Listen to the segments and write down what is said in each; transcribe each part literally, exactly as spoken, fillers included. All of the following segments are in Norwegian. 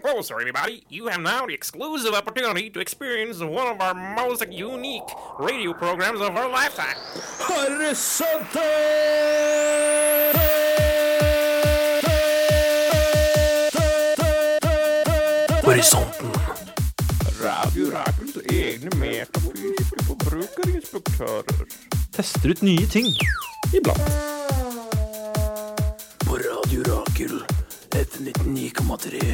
closer, everybody. You have now the exclusive opportunity to experience one of our most unique radio programs of our lifetime. Horisonten! Horisonten. Radio Rakels egne metafysiske forbrukerinspektører. Tester ut nye ting. Iblant. På Radio Rakel, F nittionio komma tre.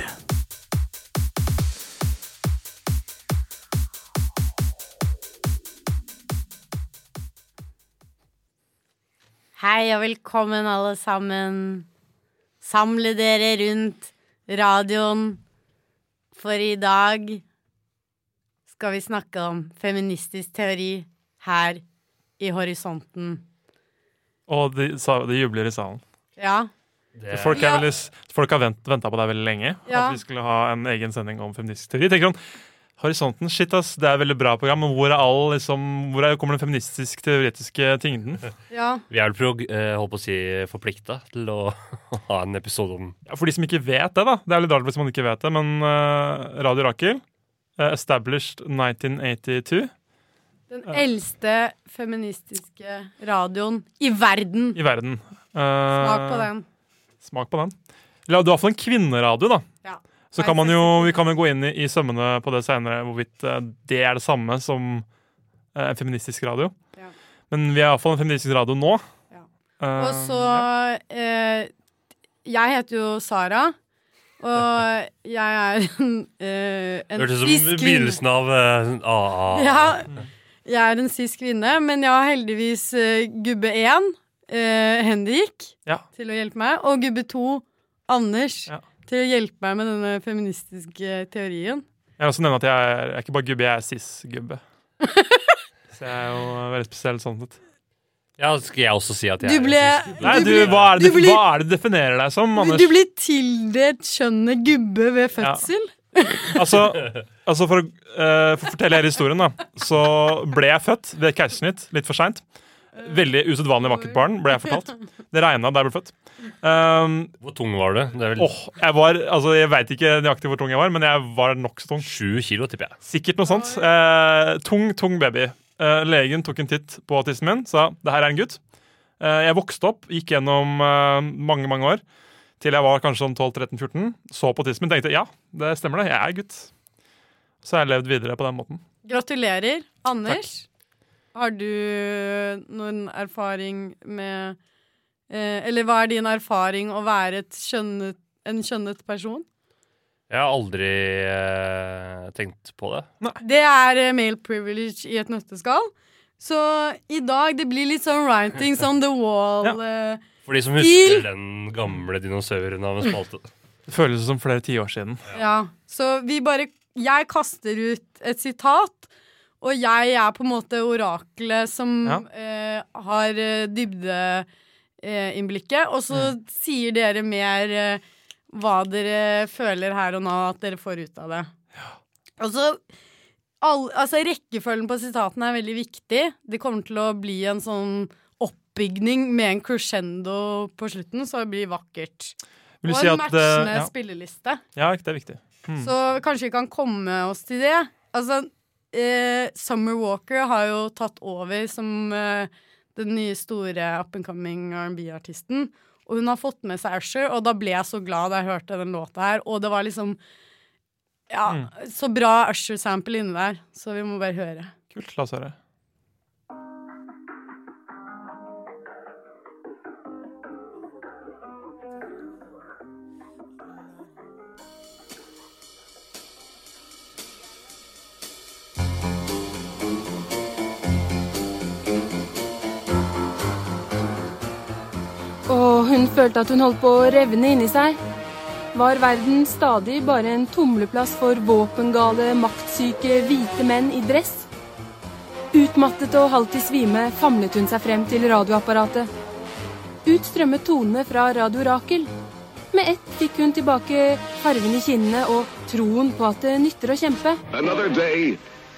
Hei og velkommen alle sammen. Samle dere rundt radioen. For i dag skal vi snakke om feministisk teori her i Horisonten. Og de, de jubler i salen. Ja. Det, folk, er veldig, folk har vent, ventet på det veldig lenge. Ja. At vi skulle ha en egen sending om feministisk teori. Tenker sånn, Horisonten, shit ass, det er et veldig bra program, men hvor er all, liksom, hvor er, kommer den feministisk teoretiske tyngden? Ja. Vi er vel prog, eh, holdt på å si, forpliktet til å ha en episode om... Ja, for de som ikke vet det da, det er litt rart hvis man ikke vet det, men uh, Radio Rakel, uh, established nineteen eighty-two. Den eldste feministiske radioen i verden. I verden. Uh, Smak på den. Smak på den. Ja, du har fått en kvinneradio da. Ja. Så kan man jo, vi kan jo gå inn i, i sømmene på det senere, hvorvidt uh, det er det samme som uh, en feministisk radio. Ja. Men vi er i hvert fall en feministisk radio nå. Ja. Uh, Og så, eh, jeg heter jo Sara, og jeg er en, eh, en Hørtes cis som kvinne. begynnelsen av uh, A A. Ja, jeg er en cis kvinne, men jeg har heldigvis eh, gubbe én, eh, Henrik, Ja. til å hjelpe meg, og gubbe to, Anders, Ja. til å hjelpe meg med denne feministiske teorien. Jeg vil også nevne at jeg er, jeg er ikke bare gubbe, jeg er cis-gubbe. Så jeg er jo veldig spesiell sånn sett. Ja, skal jeg også si at jeg Du ble, er Nei, du, blir- hva, er det, du blir- hva er det du definerer deg som, Anders? du blir tildelt skjønnet gubbe ved fødsel. Altså, altså for, å, eh, for å fortelle hele historien da, så ble jeg født ved keisersnitt, litt for sent. Veldig usedvanlig vakkert barn, ble jeg fortalt. Det regnet da jeg ble født. Um, Hvor tung var du? Det er vel åh, jeg var, altså jeg vet ikke nøyaktig hvor tung jeg var, men jeg var nok så tung. sju kilo, tipper jeg. Sikkert noe sånt. Eh, tung, tung baby. Eh, legen tok en titt på tissen min, sa, det her er en gutt. Eh, jeg vokste opp, gikk gjennom eh, mange, mange år, til jeg var kanskje sånn tolv tretten fjorten, så på tissen min, tenkte, ja, det stemmer det, jeg er gutt. Så har jeg levd videre på den måten. Gratulerer, Anders. Har du noen erfaring med eh, Eller hva er din erfaring å være et skjønnet, en skjønnet person? Jeg har aldri eh, tenkt på det. Det er eh, male privilege i et nøtteskall. Så i dag det blir litt sånn writings on the wall. eh, For de som Til- husker den gamle dinosauren av en spalte. Det føles som flere tiår siden. ja. Så vi bare Jeg kaster ut et sitat. Og jeg er på en måte oraklet som Ja. eh, har eh, dybdeinnblikket, og så Mm. sier dere mer eh, hva dere føler her og nå at dere får ut av det. Og så, all, altså rekkefølgen på sitatene er veldig viktig. Det kommer til å bli en sånn oppbygning med en crescendo på slutten, så det blir vakkert. Vil du Og si en at, matchende eh, ja. spilleliste. Ja, det er viktig. Mm. Så kanskje vi kan komme oss til det. Altså, eh, Summer Walker har jo tatt over som eh, den nye store up-and-coming R and B-artisten. Og hun har fått med seg Usher, og da ble jeg så glad da jeg hørte den låta her. Og det var liksom ja, Mm. så bra Usher-sample inni der. Så vi må bare høre. Kult, la oss høre. Og hun følte at hun holdt på å revne inni seg. Var verden stadig bare en tumleplass for våpengale, maktsyke, hvite menn i dress? Utmattet og halvt i svime famlet hun seg frem til radioapparatet. Ut strømmet tonene fra Radio Rakel. Med ett fikk hun tilbake farven i kinnene og troen på at det nytter å kjempe. Another day.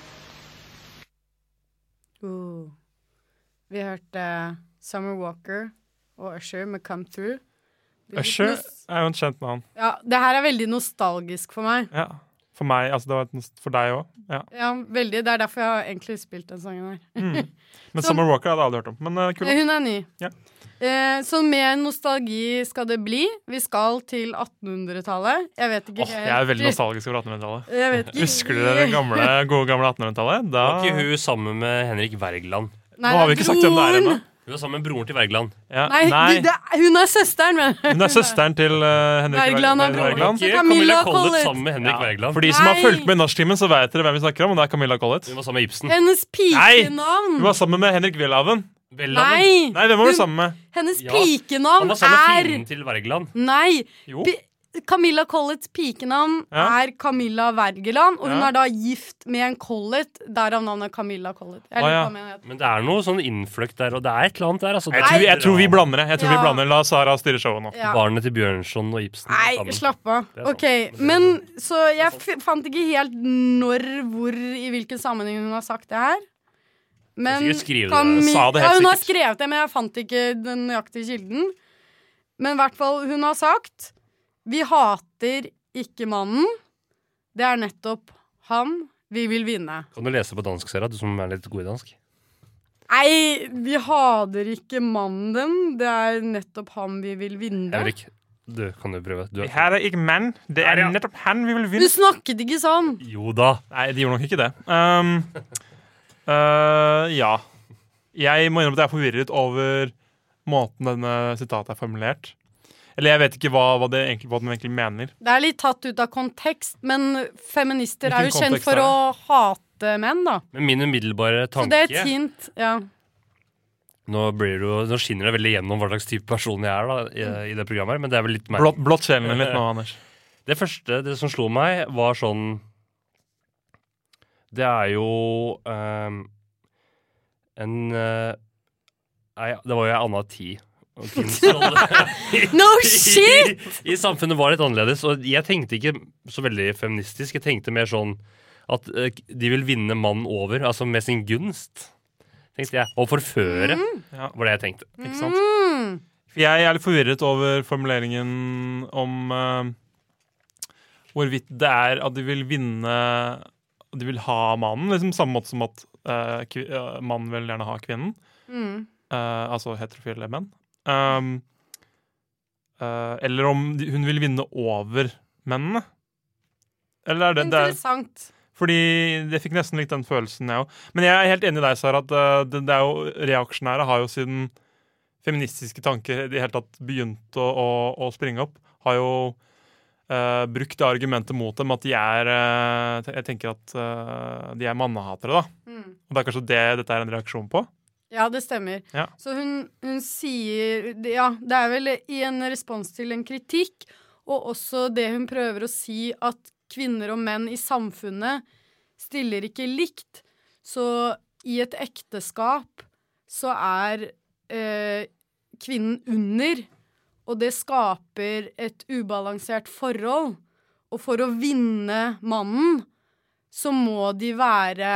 Uh. Vi hørte Summer Walker og Usher med Come Through. Usher er jo en kjent navn. Ja, det her er veldig nostalgisk for meg. Ja. For meg, altså det var et nost- for deg også. Ja. Ja, veldig. Det er derfor jeg har egentlig spilt den sangen her. Mm. Men Så- Summer Walker hadde jeg aldri hørt om. Men uh, kul. Hun er ny. Ja. Eh, så mer nostalgi skal det bli. Vi skal til attenhundretallet. Jeg vet ikke Åh, jeg er veldig nostalgisk over attenhundretallet. Jeg vet ikke. Husker dere det gamle, gode gamle attenhundretallet? Da... Var ikke hun sammen med Henrik Wergeland? Nei, Nå har vi det er ikke sagt hvem det er broren. ennå. Hun var sammen med broren til Wergeland. Ja. Nei, Nei. Det, det, hun er søsteren, men Hun er søsteren til uh, Henrik Wergeland er Wergeland. broren. Wergeland. Så Ikke Camilla Camilla Collett Collett. sammen med Henrik Ja. Wergeland. For de som har Nei. fulgt med i norsktimen, så vet dere hvem vi snakker om, og det er Camilla Collett. Hun var sammen med Ibsen. hennes pikenavn. Hun var sammen med Henrik Welhaven. Welhaven. Nei! Nei, hvem var du Hun- sammen med? Hennes Ja, Han pikenavn var sammen med er fienden til Wergeland. Nei! Jo. Pi Camilla Colletts pikenavn Ja. er Camilla Wergeland, og hun Ja. er da gift med en Collett, derav navnet Camilla Collett. Jeg Å, lurer ja. på om jeg heter. Men det er noe sånn innfløkt der, og det er et eller annet der. Altså. Jeg tror, jeg tror vi blander det. Jeg tror Ja. vi blander. La Sara styre showet nå. Ja. Barnet til Bjørnson og Ibsen. Nei, sammen. slapp av. Det er sant. Ok, men Så jeg f fant ikke helt når, hvor, i hvilken sammenheng hun har sagt det her. Men sikkert skrive det. Cami- Sa det helt ja, hun har sikkert. skrevet det, men jeg fant ikke den nøyaktige kilden. Men i hvert fall, hun har sagt vi hater ikke mannen. Det er nettopp han vi vil vinne. Kan du lese på dansk, Sera, du som er litt god i dansk? Nei, vi hater ikke mannen den. Det er nettopp han vi vil vinne. Henrik, du kan jo prøve. Du er... Her er ikke menn. Det er Der, ja. nettopp han vi vil Du vinne. snakket ikke sånn. Jo da. Nei, de gjorde nok ikke det. Um, uh, ja. Jeg må innrømme at jeg er forvirret over måten denne sitatet er formulert. Eller jeg vet ikke hva, hva, det egentlig, hva den egentlig mener. Det er litt tatt ut av kontekst, men feminister er jo Hvilken kjent kontekst for er å hate menn, da. Men min umiddelbare Så tanke det er et hint. Ja. nå, blir det jo, nå skinner det veldig gjennom hva slags type person jeg er da, i, i det programmet her, men det er vel litt merkelig. Blått, blått sjelen din litt nå, Anders. Det første det som slo meg, var sånn Det er jo ehm, en eh, Nei, det var jo ei anna tid. Og kvinnens rolle No shit! I, I samfunnet var litt annerledes. Og jeg tenkte ikke så veldig feministisk. Jeg tenkte mer sånn at eh, de vil vinne mannen over, altså med sin gunst. Tenkte jeg. Og forføre, Ja. var det jeg tenkte. Ikke sant? Mm. For jeg er litt forvirret over formuleringen om uh, hvorvidt det er at de vil vinne De vil ha mannen, liksom samme måte som at uh, kvi, uh, mannen vil gjerne ha kvinnen. Mm. Uh, altså heterofile menn. Um, uh, eller om de, hun vil vinne over mennene. Eller er det, det er, Interessant. fordi jeg fikk nesten litt den følelsen, jeg òg. Men jeg er helt enig i deg, Sara, at uh, det, det er jo reaksjonære har jo siden feministiske tanker i det hele tatt begynt å, å, å springe opp, har jo uh, brukt det argumentet mot dem at de er uh, Jeg tenker at uh, de er mannehatere, da. Mm. Og det er kanskje det dette er en reaksjon på. Ja, det stemmer. Ja. Så hun, hun sier Ja, det er vel i en respons til en kritikk, og også det hun prøver å si, at kvinner og menn i samfunnet stiller ikke likt. Så i et ekteskap så er eh, kvinnen under, og det skaper et ubalansert forhold. Og for å vinne mannen, så må de være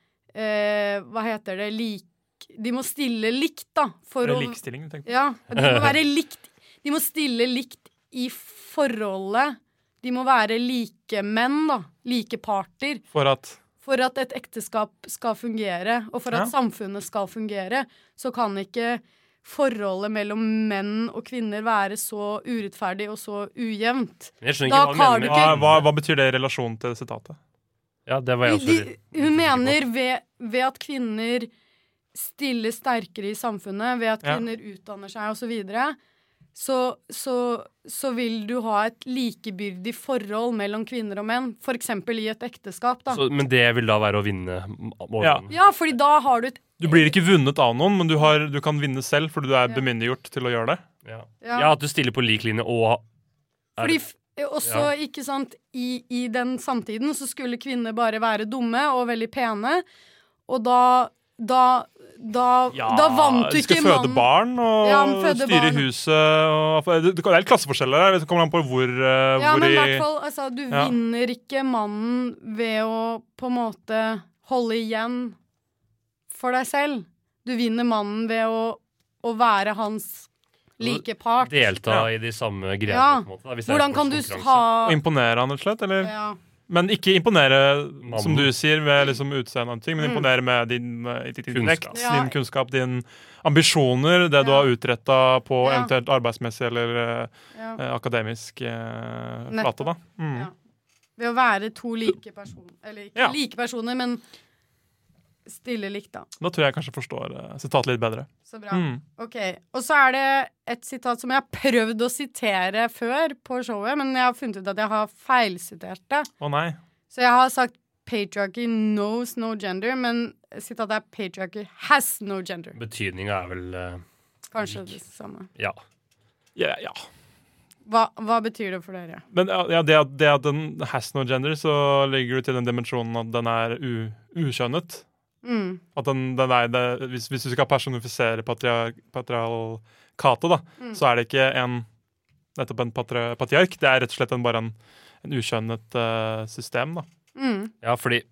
eh, Hva heter det? Lik De må stille likt, da. For Eller å, likestilling, tenker jeg. ja, de må være likt. De må stille likt i forholdet. De må være like menn, da. Like parter. For at For at et ekteskap skal fungere, og for at Ja. samfunnet skal fungere, så kan ikke forholdet mellom menn og kvinner være så urettferdig og så ujevnt. Jeg skjønner Da ikke hva har hun du mener hva, med hva, hva betyr det i relasjon til sitatet? Ja, det var jeg også De, litt hun usikker på. mener ved, ved at kvinner stiller sterkere i samfunnet, ved at Ja. kvinner utdanner seg og så videre, så, så, så vil du ha et likebyrdig forhold mellom kvinner og menn, for eksempel i et ekteskap, da. Så, men det vil da være å vinne over Ja. mannen. Ja, fordi da har du et Du blir ikke vunnet av noen, men du, har, du kan vinne selv fordi du er Ja. bemyndiggjort til å gjøre det. Ja. Ja. Ja, at du stiller på lik linje og er- Fordi f- også, ikke sant, i, i den samtiden så skulle kvinner bare være dumme og veldig pene, og da da, da, da vant du ikke skal føde mannen. barn og Ja, men føde styre barn. huset. Og, det, det er litt klasseforskjeller der. Det kommer an på hvor, eh, Ja, hvor men i i hvert fall, altså, du Ja. vinner ikke mannen ved å på en måte holde igjen for deg selv. Du vinner mannen ved å, å være hans like part. Delta Ja. i de samme greiene. Ja. på en måte, da, hvis det er Hvordan kan du sportskonkurranse. ha Å imponere han, rett og slett? Eller? ja. Men ikke imponere, Mannen. som du sier, ved liksom utseende og ting, men Mm. imponere med din uh, intellekt, Kunnskap. Ja. din kunnskap, din ambisjoner, det du Ja. har utrettet på Ja. eventuelt arbeidsmessig eller uh, Ja. uh, akademisk uh, Nettopp. flate, da. Mm. Ja. Ved å være to like personer. Eller ikke Ja. like personer, men stille likt, da. Da tror jeg kanskje forstår uh, sitatet litt bedre. Så bra. Mm. Ok, og så er det et sitat som jeg har prøvd å sitere før på showet, men jeg har funnet ut at jeg har feilsitert det. Å nei. Så jeg har sagt patriarchy knows no gender, men sitatet er patriarchy has no gender. Betydninga er vel eh, Kanskje det samme. Ja. Ja, ja. Hva, hva betyr det for dere? Men ja, ja, det, at, det at den has no gender, så ligger du til den dimensjonen at den er u, ukjønnet. Mm. At den, den er det, hvis, hvis du skal personifisere patriar, patriarkatet, da, Mm. så er det ikke en nettopp en patri, patriark. Det er rett og slett en, bare en, en ukjønnet eh, system, da. Mm. Ja, fordi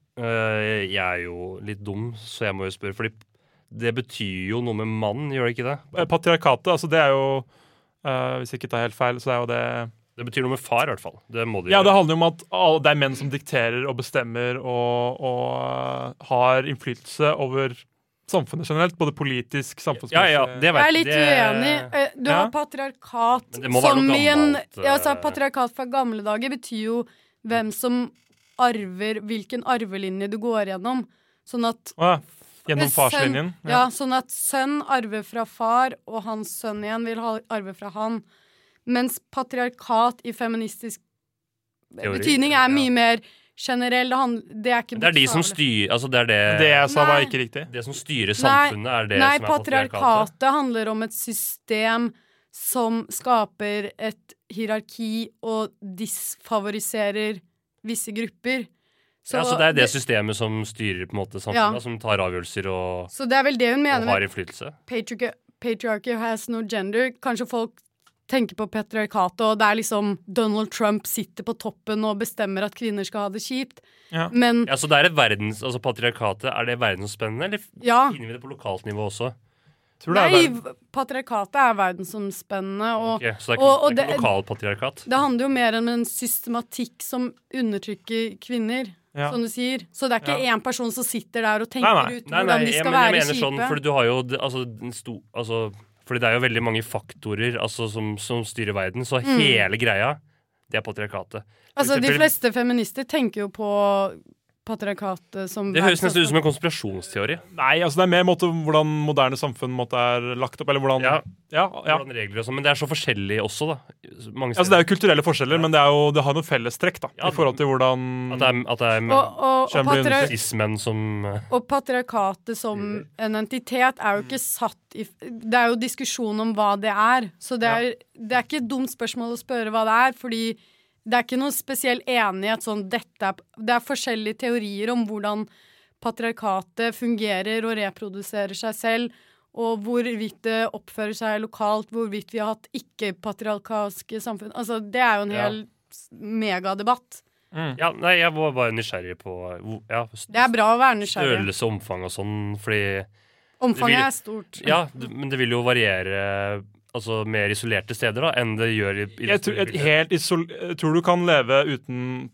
øh, jeg er jo litt dum, så jeg må jo spørre. Fordi det betyr jo noe med mann, gjør det ikke det? Eh, Patriarkatet, altså det er jo eh, hvis jeg ikke tar helt feil, så er jo det Det betyr noe med far, i hvert fall. Det må det Ja, det gjøre. handler jo om at alle, det er menn som dikterer og bestemmer og, og eh, har innflytelse over samfunnet generelt, både politisk, samfunnsmessig Ja, ja, det Jeg vet er litt det- uenig. Eh, Du Ja. har patriarkat Men det må være som noe i en gammelt, ja, altså, eh. Patriarkat fra gamle dager betyr jo hvem som arver hvilken arvelinje du går gjennom. Sånn at Å ja. Gjennom sønn- farslinjen. Ja, sånn at sønn arver fra far, og hans sønn igjen vil ha arve fra han. Mens patriarkat i feministisk Teori, betydning er ja. mye mer generell. Det, han, det er ikke Det er de som bokstavelig. styrer Altså, det er det Det jeg sa, var Nei. ikke riktig. Det som styrer Nei, samfunnet, er det Nei, som er patriarkatet. patriarkatet handler om et system som skaper et hierarki og disfavoriserer visse grupper. Så, ja, så det er det systemet som styrer på en måte samfunnet, Ja. da, som tar avgjørelser og, så det er vel det hun og mener har med innflytelse. patriarchy, patriarchy has no gender. Kanskje folk tenker på patriarkatet, og det er liksom Donald Trump sitter på toppen og bestemmer at kvinner skal ha det kjipt. Ja. Men Ja, så det er et verdens, altså patriarkatet, er det verdensomspennende, eller ja. finner vi det på lokalt nivå også? Tror det er Nei, verden- patriarkatet er verdensomspennende, og Ok, så det er ikke, og- og det er det- ikke lokalt patriarkat? det handler jo mer om en systematikk som undertrykker kvinner, Ja. som du sier. Så det er ikke én person som sitter der og tenker Nei, nei. ut Nei, hvordan nei, de jeg, skal men jeg være mener sånn, kjipe. for du har jo det- altså, den sto, altså, fordi det er jo veldig mange faktorer altså, som, som styrer verden, så Mm. hele greia, det er patriarkatet. For Altså, de eksempel- fleste feminister tenker jo på patriarkatet som Det høres nesten ut som en konspirasjonsteori. Nei, altså det er mer måte, hvordan moderne samfunn måte, er lagt opp, eller hvordan Ja. ja, ja. Hvordan regler og sånn, men det er så forskjellig også, da. Mange Altså, det er jo kulturelle forskjeller, men det, er jo, det har noen fellestrekk da, Ja, i forhold til hvordan At det er, at det er og, og, og, Skjønner du? patri cis-menn som eh, og patriarkatet som en entitet er jo ikke satt i Det er jo diskusjon om hva det er. Så det er, det er ikke et dumt spørsmål å spørre hva det er, fordi det er ikke noe spesiell enighet sånn dette er Det er forskjellige teorier om hvordan patriarkatet fungerer og reproduserer seg selv, og hvorvidt det oppfører seg lokalt, hvorvidt vi har hatt ikke-patriarkalske samfunn. Altså, det er jo en Ja. hel s- megadebatt. Ja, nei, jeg var bare nysgjerrig på hvor- ja, Det er bra å være nysgjerrig. størrelse og omfang og sånn, fordi Omfanget det vil- er stort. Ja, det, men det vil jo variere altså mer isolerte steder da enn det gjør i, i jeg tror, et helt isol jeg tror du kan leve uten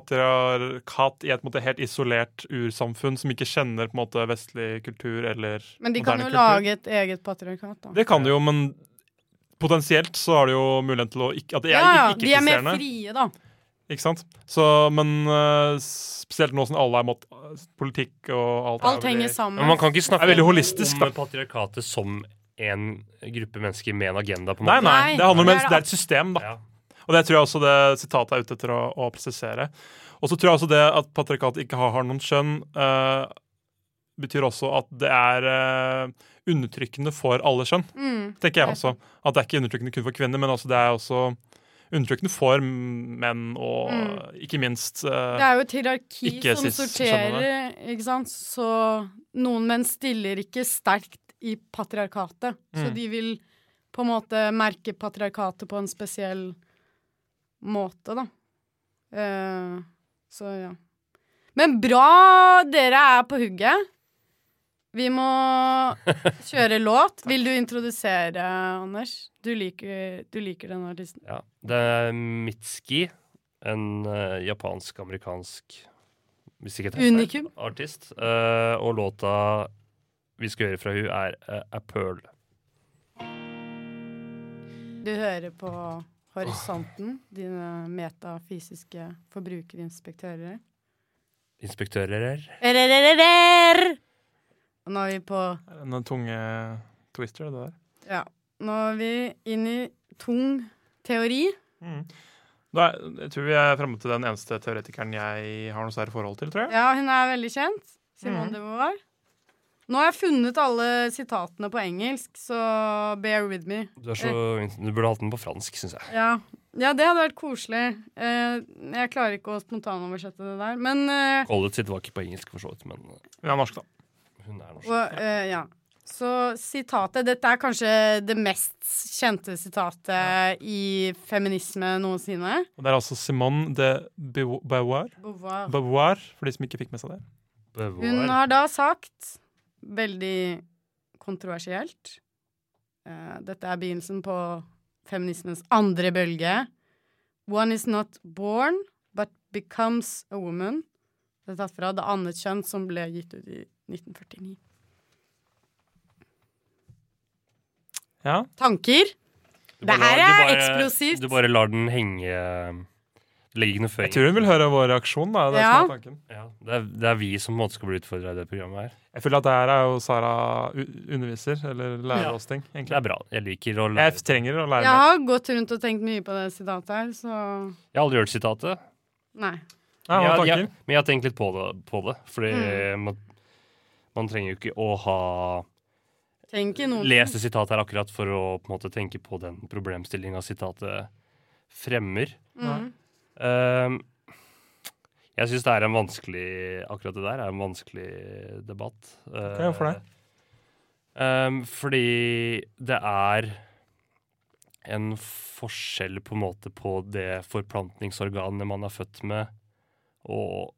patriarkat i et måte, helt isolert ursamfunn som ikke kjenner på en måte vestlig kultur eller Men de kan moderne jo kultur. lage et eget patriarkat, da. Det kan de jo, men potensielt så har de jo mulighet til å ikke, at det er Ja, ja, ikke de er mer ikke-eksisterende. frie, da. Ikke sant? Så, men øh, spesielt nå som alle er mot øh, politikk og alt Alt er henger veldig- sammen. Men man kan ikke snakke Det er veldig holistisk, om da. patriarkatet som en gruppe mennesker med en agenda, på en Nei, måte. nei, Nei, det handler om det en- er det det er et system, da. Ja. Og det tror jeg også det sitatet er ute etter å, å presisere. Og så tror jeg også det at patriarkatet ikke har, har noen skjønn, øh, betyr også at det er øh, undertrykkende for alle skjønn. Mm. Tenker jeg også. At det er ikke undertrykkende kun for kvinner, men altså det er også undertrykkende for menn, og Mm. ikke minst øh, Det er jo et hierarki Ikke som cis- sorterer, ikke sant. Så noen menn stiller ikke sterkt i patriarkatet. Så Mm. de vil på en måte merke patriarkatet på en spesiell måte, da. Eh, så ja. Men bra dere er på hugget. Vi må kjøre låt. Vil du introdusere, Anders? Du liker, du liker denne artisten. Ja. Det er Mitski, en uh, japansk-amerikansk hvis ikke det Unikum. artist. Uh, og låta vi skal høre fra hun er uh, A Pearl. Du hører på Horisonten, dine metafysiske forbrukerinspektører. Inspektører. Ererererrer! Og nå er vi på En tunge twister, det der. Ja. Nå er vi inn i tung teori. Mm. Da er, jeg tror vi er fremme til den eneste teoretikeren jeg har noe særlig forhold til, tror jeg. Ja, hun er veldig kjent. Simone Mhm. de Beauvoir. Nå har jeg funnet alle sitatene på engelsk, så bear with me. Du, er så, du burde hatt den på fransk, synes jeg. Ja, ja det hadde vært koselig. Eh, jeg klarer ikke å spontanoversette det der, men eh, Collett sitt var ikke på engelsk for så vidt, men uh, Hun er norsk, da. hun er norsk. og, eh, ja. Så sitatet, dette er kanskje det mest kjente sitatet i feminisme noensinne. Og det er altså Simone de Beau- Beauvoir. Beauvoir. Beauvoir, for de som ikke fikk med seg det. Hun har da sagt, veldig kontroversielt, eh, dette er begynnelsen på feminismens andre bølge. One is not born, but becomes a woman. Det er tatt fra Det annet kjønn, som ble gitt ut i nitten førtini. Ja. Tanker? Du Det bare her lar- du er bare- eksplosivt. Du bare lar den henge. Legger ikke noe Jeg føring. tror hun vil høre vår reaksjon, da. Det er, Ja. som er tanken. Ja, det, er, det er vi som på en måte skal bli utfordret i det programmet her. Jeg føler at det her er jo Sara u- underviser, eller lærer Ja. oss ting, Det egentlig. er bra. Jeg liker å lære. Jeg trenger å lære Jeg mer. har gått rundt og tenkt mye på det sitatet her, så Jeg har aldri hørt sitatet. nei. Ja, hva Jeg- er jeg- tanker? men jeg har tenkt litt på det. På det fordi Mm. man, man trenger jo ikke å ha Tenk ikke noe. lest det sitatet her akkurat for å på en måte tenke på den problemstillinga sitatet fremmer. Mm. Um, jeg syns det er en vanskelig Akkurat det der er en vanskelig debatt. Ok, hvorfor det? Um, fordi det er en forskjell på en måte på det forplantningsorganet man er født med, og,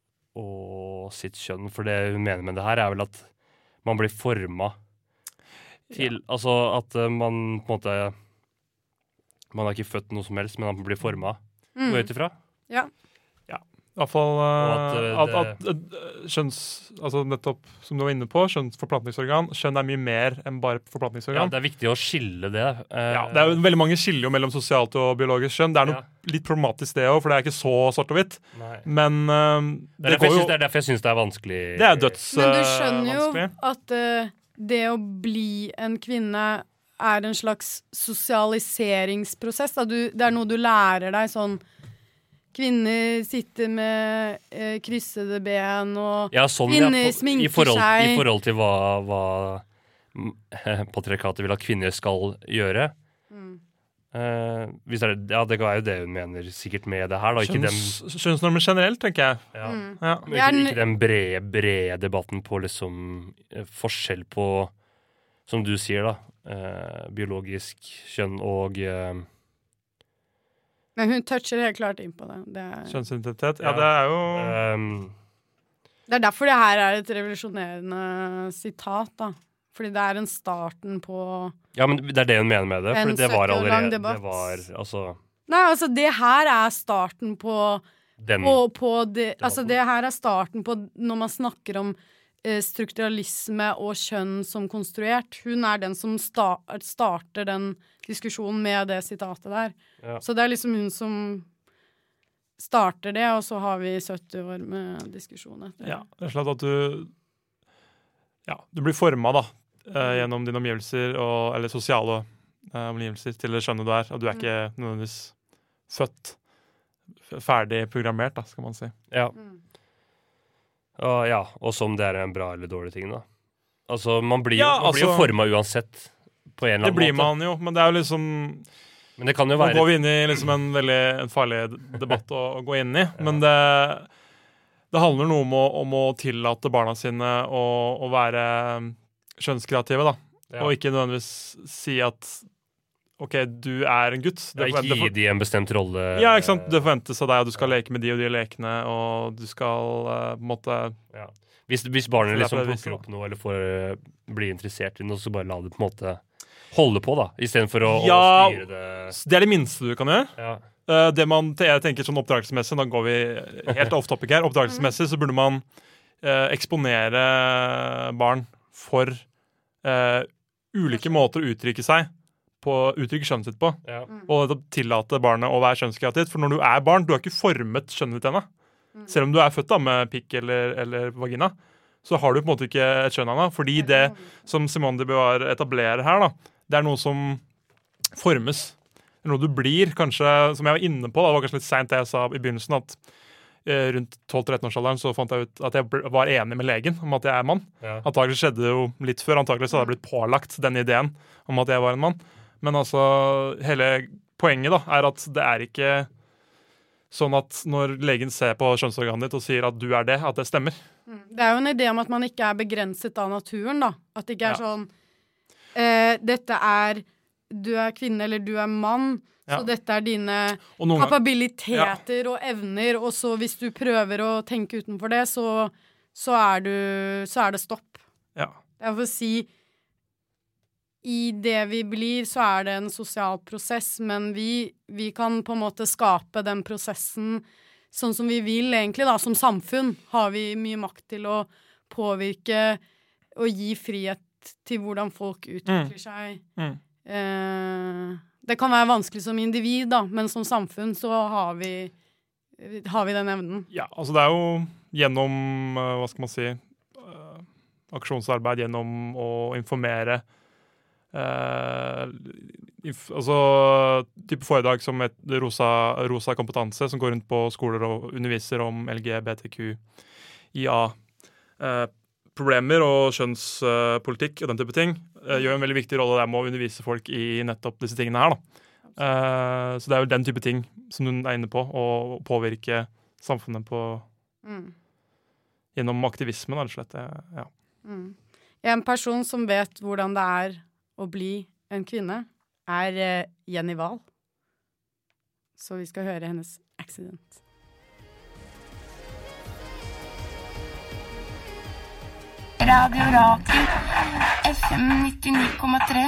og sitt kjønn. For det hun mener med det her, er vel at man blir forma til Altså at uh, man på en måte Man er ikke født noe som helst, men man blir forma. Mm. Gå ut ifra. Ja. I hvert fall Og eh, at, at, uh, at, uh, kjønns... Altså nettopp, som du var inne på, kjønnsforplantningsorgan. Kjønn er mye mer enn bare Ja, forplantningsorgan. det er viktig å skille det. Uh, Ja, det er jo veldig mange skiller jo mellom sosialt og biologisk kjønn. Det er noe Ja. litt problematisk det òg, for det er ikke så svart og hvitt. Nei. Men eh, Det er det derfor jeg går syns jo det er derfor jeg syns det er vanskelig. Det er døds Men du eh, skjønner jo vanskelig. at eh, det å bli en kvinne er en slags sosialiseringsprosess. Da. Du, det er noe du lærer deg sånn. Kvinner sitter med eh, kryssede ben og Ja, sånn, ja, Kvinner på- sminker i forhold, seg. I forhold til hva, hva mm, patriarkatet vil at kvinner skal gjøre. Mm. Eh, hvis det, er, ja, det er jo det hun mener sikkert med det her. Da. Ikke, den, Kjønns, kjønnsnormer generelt, tenker jeg. ja, Mm. Ja. men Det er ikke, en- ikke den brede, brede debatten på liksom eh, forskjell på, som du sier, da, eh, biologisk kjønn og eh, Men hun toucher helt klart inn på det. Det er, Kjønnsidentitet. Ja, Ja. det er jo ehm, det er derfor det her er et revolusjonerende sitat, da. Fordi det er en starten på Ja, men det er det hun mener med det. En For det var sytti år lang allerede debatt. Det var altså Nei, altså, det her er starten på den på, på det, altså det her er starten på når man snakker om eh, strukturalisme og kjønn som konstruert. Hun er den som sta starter den diskusjonen med det sitatet der. Ja. Så det er liksom hun som starter det, og så har vi sytti år med diskusjon etter. Ja, rett og slett at du Ja, du blir forma, da, eh, gjennom dine omgivelser, og, eller sosiale eh, omgivelser, til det skjønnet du er. Og du er ikke nødvendigvis født f- ferdig programmert, da, skal man si. Ja. Mm. Og, ja, og som det er en bra eller dårlig ting, da. Altså, man blir, Ja, man blir jo altså- forma uansett, på en eller Det annen blir måte. man jo, men det er jo liksom Men det kan jo Nå være går vi inn i liksom en veldig en farlig d- debatt å, å gå inn i, men det, det handler noe om å, om å tillate barna sine å, å være kjønnskreative, da. Ja. Og ikke nødvendigvis si at OK, du er en gutt. Det Ja, forventer- gi de en bestemt rolle. Ja, ikke sant? Det forventes av deg at du skal leke med de og de lekene, og du skal uh, på en måte Ja. Hvis, hvis barnet Så det er liksom på det viset, plukker opp noe eller får uh, bli interessert i noe, så bare la det på en måte holde på, da. Istedenfor å, Ja. å styre det. Det er det minste du kan gjøre. Ja. Uh, det man, jeg tenker sånn oppdragelsesmessig, da går vi helt off topic her. Oppdragelsesmessig så burde man uh, eksponere barn for uh, ulike måter å uttrykke seg på, uttrykke skjønnet sitt på. Ja. Og nettopp tillate barnet å være kjønnskreativt. For når du er barn, du har ikke formet skjønnet ditt ennå. Selv om du er født da med pikk eller, eller vagina, så har du på en måte ikke et kjønn ennå. Fordi det som Simone de Beauvoir etablerer her, da, det er noe som formes. Det er noe du blir, kanskje, som jeg var inne på, da, det var kanskje litt sent det jeg sa i begynnelsen, at eh, rundt tolv-tretten-årsalderen så fant jeg ut at jeg ble- var enig med legen om at jeg er mann. Ja. Antagelig skjedde det jo litt før, antagelig så hadde jeg blitt pålagt den ideen om at jeg var en mann. Men altså, hele poenget da, er at det er ikke sånn at når legen ser på kjønnsorganet ditt og sier at du er det, at det stemmer. Det er jo en idé om at man ikke er begrenset av naturen, da. At det ikke er Ja. sånn eh, Dette er Du er kvinne eller du er mann, Ja. så dette er dine Og noen gang, kapabiliteter og evner, og så hvis du prøver å tenke utenfor det, så, så, er, du, så er det stopp. ja. Det er for å si I det vi blir, så er det en sosial prosess, men vi, vi kan på en måte skape den prosessen sånn som vi vil, egentlig, da. Som samfunn har vi mye makt til å påvirke og gi frihet til hvordan folk utvikler seg. Mm. Eh, det kan være vanskelig som individ, da, men som samfunn så har vi, har vi den evnen. Ja, altså det er jo gjennom, eh, hva skal man si, eh, aksjonsarbeid, gjennom å informere eh, inf altså type foredrag som et rosa, rosa kompetanse som går rundt på skoler og underviser om L G B T Q I A eh, problemer og kjønnspolitikk og den type ting, eh, gjør en veldig viktig rolle der med å undervise folk i nettopp disse tingene her, da. Eh, så det er jo den type ting som hun er inne på, å påvirke samfunnet på Mm. gjennom aktivisme, rett og slett. Eh, Ja. Mm. En person som vet hvordan det er å bli en kvinne, er eh, Jenny Wahl. Så vi skal høre hennes accident. Radio Rakel, F M nittini komma tre.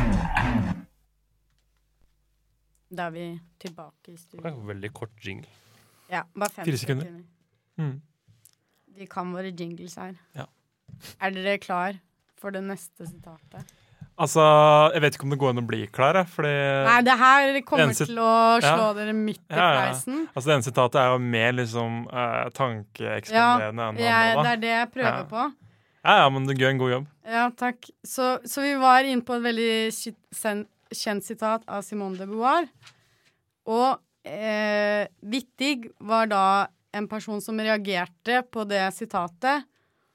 Da er vi tilbake i Det studio. var en veldig kort jingle. Ja, bare fem Fire sekunder. Mm. Vi kan våre jingles her. Ja. Er dere klar for det neste sitatet? Altså, jeg vet ikke om det går an å bli klar, jeg, fordi Nei, det her kommer en sit- til å slå Ja. dere midt i Ja, ja, ja. fleisen. altså, det ene sitatet er jo mer liksom uh, Ja, tankeekspanderende enn det jeg, andre. det da. er det jeg prøver Ja. på. Ja, ja, men du gjør en god jobb. Ja, takk. Så, så vi var inne på et veldig sk- sen- kjent sitat av Simone de Beauvoir. Og eh, Wittig var da en person som reagerte på det sitatet.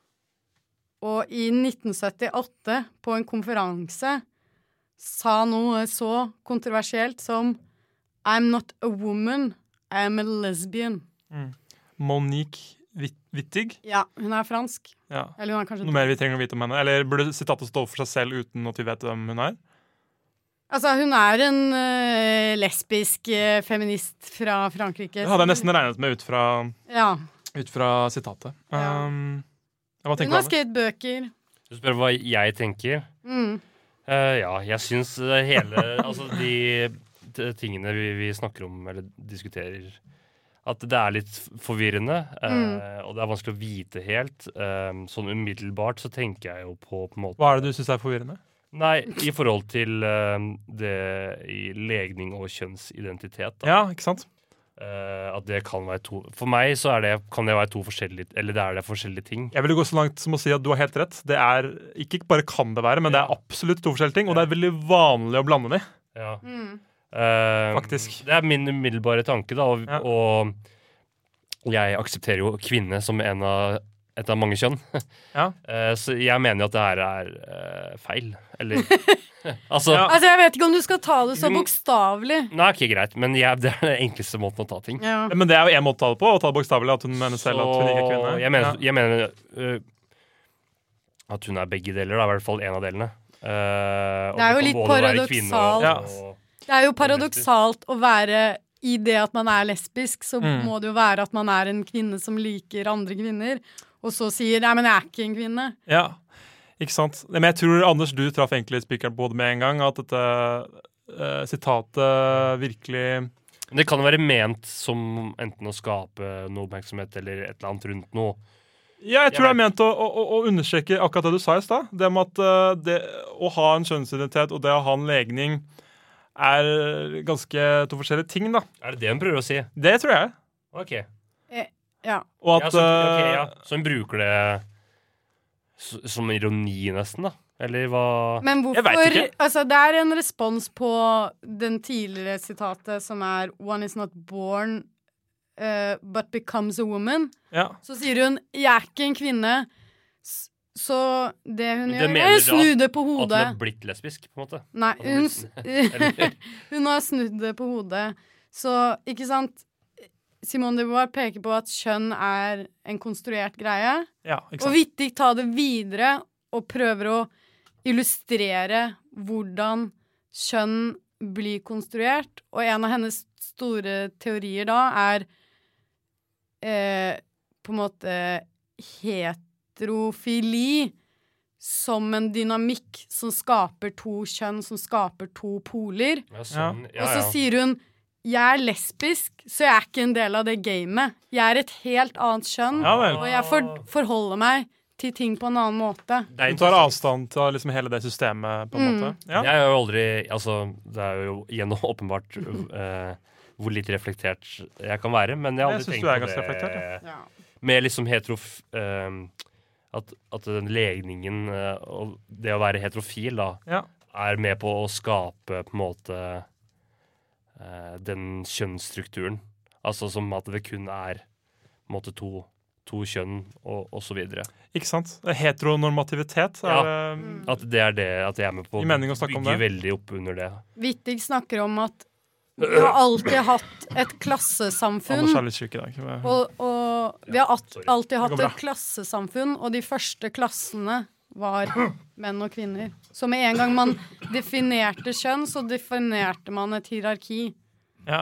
Og i nitten syttiåtte, på en konferanse, sa noe så kontroversielt som I'm not a woman, I'm a lesbian. Monique Witt- Wittig. Ja, hun er fransk. Ja. Eller hun er kanskje Noe mer vi trenger å vite om henne? Eller burde sitatet stå for seg selv uten at vi vet hvem hun er? Altså, hun er en eh, lesbisk eh, feminist fra Frankrike. Det hadde jeg nesten regnet med ut fra, Ja. ut fra sitatet. Ja. Um, jeg må Hun tenke har over det. skrevet bøker. Du spør hva jeg tenker. Mm. Eh, ja, jeg syns eh, hele Altså de, de tingene vi, vi snakker om eller diskuterer, at det er litt forvirrende, eh, Mm. og det er vanskelig å vite helt. Eh, sånn umiddelbart så tenker jeg jo på på en måte Hva er det du syns er forvirrende? Nei, i forhold til eh, det i legning og kjønnsidentitet. Da. Ja, ikke sant? Eh, at det kan være to For meg så er det, kan det være to forskjellige Eller det er det forskjellige ting. Jeg vil gå så langt som å si at du har helt rett. Det er ikke bare kan det være, men det er absolutt to forskjellige ting, og det er veldig vanlig å blande de. Ja. Mm. Eh, Faktisk. Det er min umiddelbare tanke, da. Og, Ja. og jeg aksepterer jo kvinne som en av, et av mange kjønn. Ja. Eh, så jeg mener jo at det her er eh, feil. Eller Altså Ja. Altså, jeg vet ikke om du skal ta det så Mm. bokstavelig. Nei, ikke greit, men jeg, det er den enkleste måten å ta ting. Ja. Men det er jo én måte å ta det på, å ta det bokstavelig. At hun mener selv at hun ikke er kvinne. jeg mener, Ja. jeg mener øh, at hun er begge deler, da, i hvert fall en av delene. Eh, og Det er jo kan litt både være kvinne paradoksalt. og- Det er jo paradoksalt å være i det at man er lesbisk, så Mm. må det jo være at man er en kvinne som liker andre kvinner, og så sier, nei, men jeg er ikke en kvinne. Ja, ikke sant? Men jeg tror, Anders, du traff egentlig spikeren på hodet med en gang, at dette uh, sitatet virkelig... Det kan være ment som enten å skape noe oppmerksomhet eller et eller annet rundt noe. Ja, jeg tror Jeg det er ment å, å, å understreke akkurat det du sa i stad. Det med at uh, det, å ha en kjønnsidentitet og det å ha en legning er ganske to forskjellige ting, da. Er det det hun prøver å si? Det tror jeg. Ok. Ja. Og Ja, at så, ok, uh, ja. så hun bruker det s- som ironi, nesten, da? Eller hva? Men Jeg vet hvorfor, ikke. altså det er en respons på den tidligere sitatet som er one is not born uh, but becomes a woman. ja. Så sier hun, jeg er ikke en kvinne, S- så det hun Det gjør, mener er å da snu det på At hun hodet. er blitt lesbisk, på en måte? Nei, At hun hun, er s- Eller- hun har snudd det på hodet. Så, ikke sant, Simone de Beauvoir peker på at kjønn er en konstruert greie, ja, ikke og sant? Wittig tar det videre og prøver å illustrere hvordan kjønn blir konstruert, og en av hennes store teorier da er eh, på en måte heterofili som en dynamikk som skaper to kjønn, som skaper to poler. Ja, sånn. Ja, Og så ja. sier hun, jeg er lesbisk, så jeg er ikke en del av det gamet. Jeg er et helt annet kjønn, Ja vel. og jeg for, forholder meg til ting på en annen måte. Det er Hun tar interessant. avstand til liksom hele det systemet, på en Mm. måte. Ja. Jeg har jo aldri Altså, det er jo igjen åpenbart eh, hvor litt reflektert jeg kan være, men jeg har Jeg aldri synes tenkt du er på ganske det reflektert, Ja. med liksom heterof... eh, at, at den legningen eh, og det å være heterofil da Ja. er med på å skape på en måte eh, den kjønnsstrukturen. Altså som at det kun er på en måte to, to kjønn og, og så videre. Ikke sant? Heteronormativitet er Ja. det Mm. At det er det at jeg er med på I mening å snakke om bygge det. veldig opp under det. Wittig snakker om at vi har alltid hatt et klassesamfunn, Anders er litt syk i dag. og, og vi har at, sorry. alltid Det hatt går bra. et klassesamfunn, og de første klassene var menn og kvinner. Så med en gang man definerte kjønn, så definerte man et hierarki. Ja.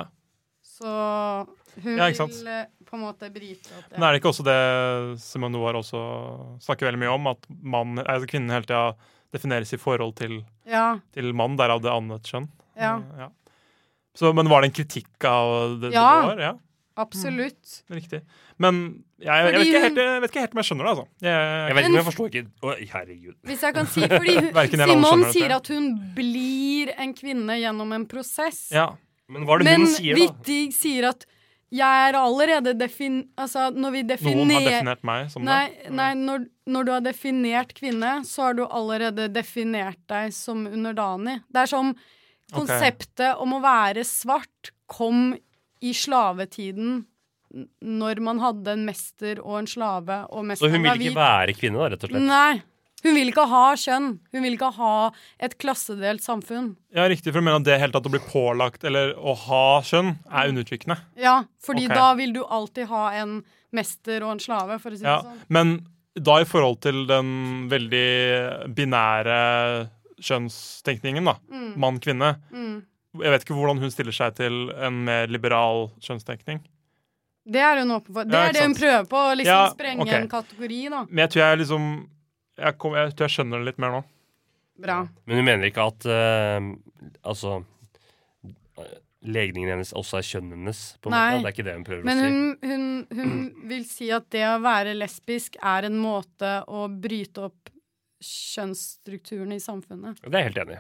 Så hun Ja, ikke sant? vil eh, på en måte bryte opp det. Men er det ikke også det Simone Noir også snakker veldig mye om, at man, altså kvinnen hele tida defineres i forhold til, Ja, til mann, derav det annet kjønn? ja, Ja. Så, men var det en kritikk av det? Ja. det var? Ja, absolutt. riktig. Men jeg, jeg, vet Fordi ikke hun- helt, jeg vet ikke helt om jeg skjønner det, altså. Jeg, Jeg vet ikke, men jeg forstår ikke Oi, herregud. Hvis jeg kan si, fordi hun, Hverken jeg eller alle Simon skjønner sier dette. at hun blir en kvinne gjennom en prosess. ja. Men hva er det Men hun sier, da? Wittig sier at jeg er allerede defin... Altså, når vi Noen har definerer definert meg som Nei, det. nei når, når du har definert kvinne, så har du allerede definert deg som underdanig. Det er som konseptet om å være svart kom i slavetiden n- når man hadde en mester og en slave, og Så mesteren hun var vil ikke hvit. være kvinne, da, rett og slett? Nei. Hun vil ikke ha kjønn. Hun vil ikke ha et klassedelt samfunn. Ja, riktig, for du mener at det helt tatt å bli pålagt eller å ha kjønn er undertrykkende. Ja, fordi Ok. da vil du alltid ha en mester og en slave, for å si det Ja. sånn. Men da i forhold til den veldig binære kjønnstenkningen, da, Mm. mann-kvinne, Mm. jeg vet ikke hvordan hun stiller seg til en mer liberal kjønnstenkning. Det er hun åpen for. Det Ja, er ikke det hun sant. prøver på, å liksom Ja, sprenge ok. en kategori, da. Men jeg tror jeg liksom Jeg, kom, jeg tror jeg skjønner det litt mer nå. Bra. Men hun mener ikke at eh, altså eh, legningen hennes også er kjønnet hennes? På en Nei. måte. Det er ikke det hun prøver Men å si. hun, hun, hun vil si at det å være lesbisk er en måte å bryte opp kjønnsstrukturene i samfunnet. Det er jeg helt enig i.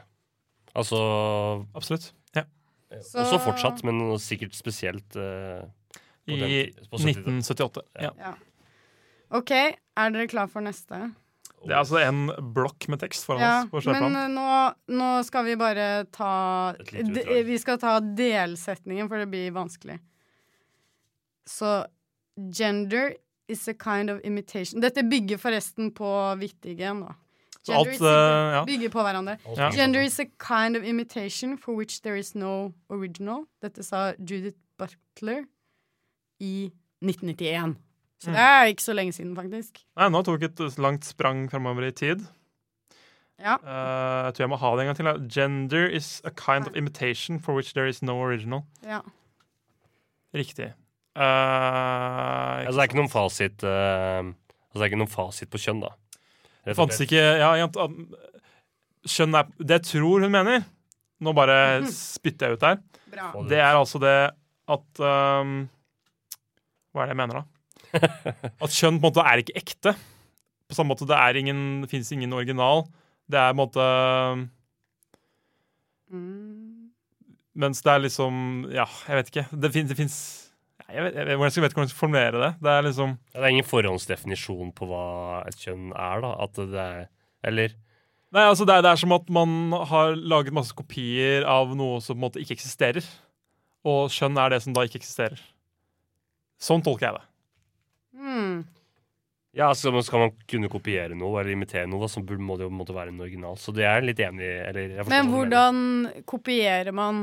Altså Absolutt. Ja. Så- Også fortsatt, men sikkert spesielt eh, på I den tid- på syttitallet. nitten syttiåtte. Ja. Ja. OK, er dere klar for neste? Det er altså en blokk med tekst foran Ja, oss på men skjøteplanen. eh, nå, nå skal vi bare ta Et lite de, utdrag. Vi skal ta delsetningen, for det blir vanskelig. Så gender is a kind of imitation. Dette bygger forresten på Wittigen, da. Så alt, is eh, a, ja. bygger på hverandre. Ja. Gender is a kind of imitation for which there is no original. Dette sa Judith Butler i nitten nittien. Så Mm. det er ikke så lenge siden, faktisk. Nei, nå tok et langt sprang fremover i tid. Ja. Uh, jeg tror jeg må ha det en gang til. Da. Gender is a kind of imitation for which there is no original. Ja. Riktig. Uh, Altså, det er ikke noen fasit uh, Altså, det er ikke noen fasit på kjønn, da. Det fantes ikke ja, Skjønn er det jeg tror hun mener. Nå bare spytter jeg ut her. Bra. Det er altså det at um, hva er det jeg mener, da? At kjønn på en måte er ikke ekte. På samme måte det er ingen det finnes ingen original. Det er på en måte Mm. Mens det er liksom Ja, jeg vet ikke. Det fins, det fins Jeg vet, jeg, vet, jeg vet ikke hvordan jeg skal formulere det. Det er liksom Ja, det er ingen forhåndsdefinisjon på hva et kjønn er, da. At det er Eller Nei, altså det er, det er som at man har laget masse kopier av noe som på en måte ikke eksisterer. Og kjønn er det som da ikke eksisterer. Sånn tolker jeg det. Mm. Ja, altså skal man kunne kopiere noe eller imitere noe, da, så burde- må det jo måtte være en original. Så det er jeg litt enig i. Eller, jeg forstår Men hva du mener. hvordan kopierer man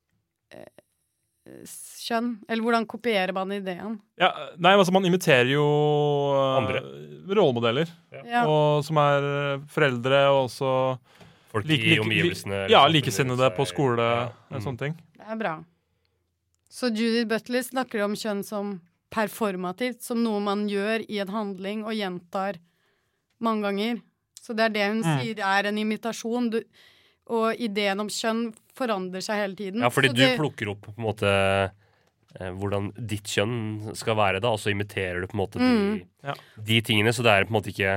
eh, kjønn? Eller hvordan kopierer man ideen? Ja, nei, altså man imiterer jo uh, Andre. rollemodeller. Ja. Og som er uh, foreldre og også Folk like- i like- omgivelsene. Ja, eller likesinnede samfunnet på rundt seg. skole Ja. og Mm. sånne ting. Det er bra. Så Judith Butler snakker om kjønn som performativt, som noe man gjør i en handling og gjentar mange ganger. Så det er det hun Mm. sier er en imitasjon. Du, og ideen om kjønn forandrer seg hele tiden. Ja, fordi Så du det, plukker opp på en måte eh, hvordan ditt kjønn skal være, da, og så imiterer du på en måte Mm. de, Ja. de tingene, så det er på en måte ikke